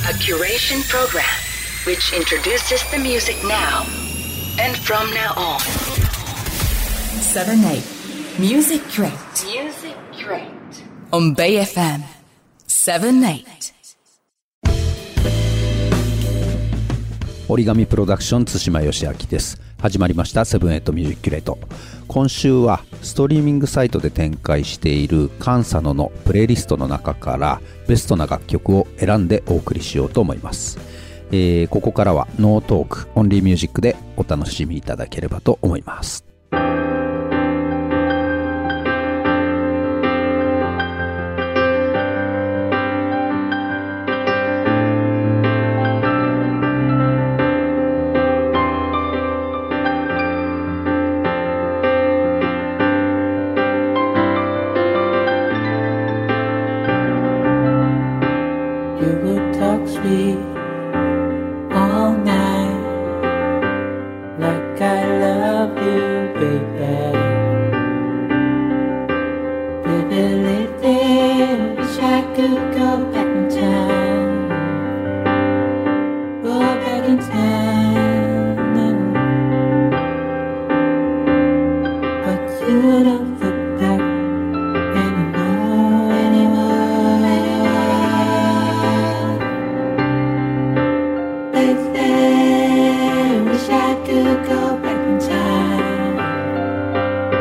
A curation program which introduces the music now and from now on. 7-8 Music Crate. Music Crate. On Bay FM 7-8. 折り紙プロダクション津島義明です。始まりましたセブンエイトミュージックキュレート。今週はストリーミングサイトで展開しているカンサノのプレイリストの中からベストな楽曲を選んでお送りしようと思います。ここからはノートークオンリーミュージックでお楽しみいただければと思います。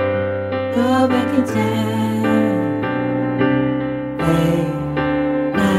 Back in time, late night.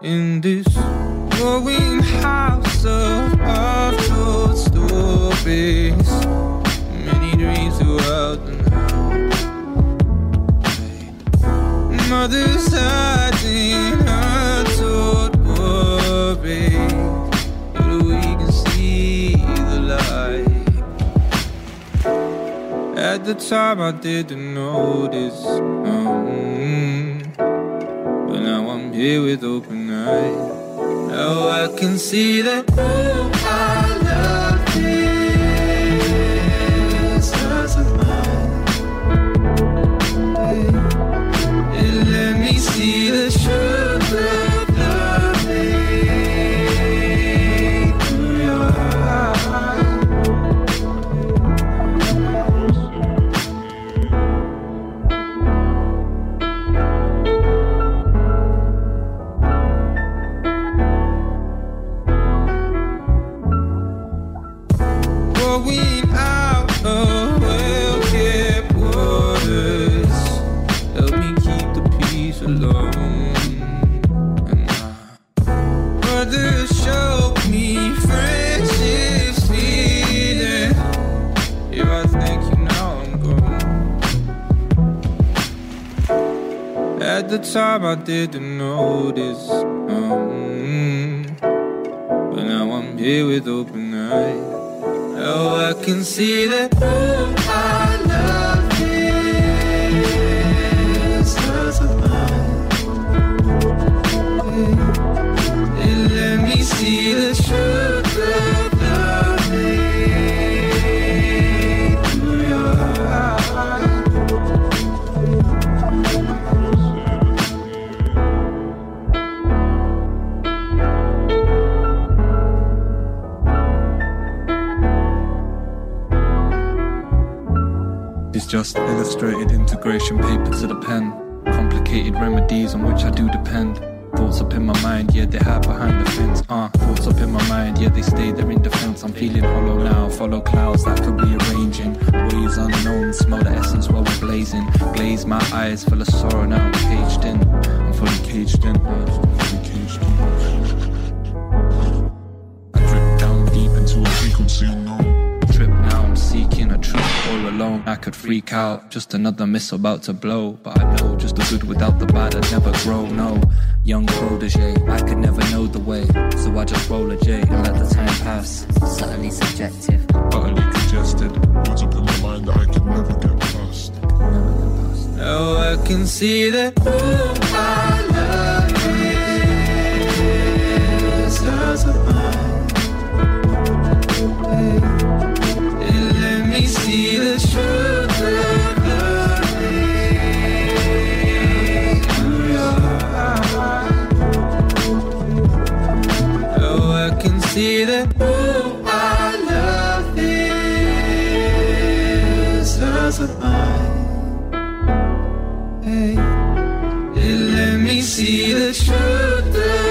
in this glowing house of half-told stories. Many dreams throughout the night. Mother's hiding her told worry, but we can see the light. At the time I didn't notice, but now I'm here with open eyes. Now I can see that I love this house of mine. It let me see the sugar of loving through your eyes. Going out of well-kept waters, help me keep the peace alone. And my mother showed me friendship's feeling. If I thank you now, I'm gone. At the time I didn't notice, but now I'm here with open eyes. Oh, I can see that I love this house of mine. It let me see the sugar of loving through your eyes. It's just illustrated integration paper to the pen. Complicated remedies on which I do depend. Thoughts up in my mind, yeah, they hide behind the fence. Thoughts up in my mind, yeah, they stay there in defense. I'm feeling hollow now, follow clouds that could be arranging. Ways unknown, smell the essence while we're blazing. Glaze my eyes full of sorrow, now I'm caged in. I'm fully caged in. I drip down deep into a frequency unknown. Trip now, I'm seeking a truth all alone. I could freak out, just another missile about to blow. But I know just the good without the bad I'd never grow, no. Young protege, I could never know the way. So I just roll a J and let the time pass. Subtly subjective, utterly congested. Words up in my mind that I could never get past. Now I can see that I love this house of mine. It let me see the sugar of loving through your eyes. Oh, I can see that I love this house of mine. Hey, it let me see the sugar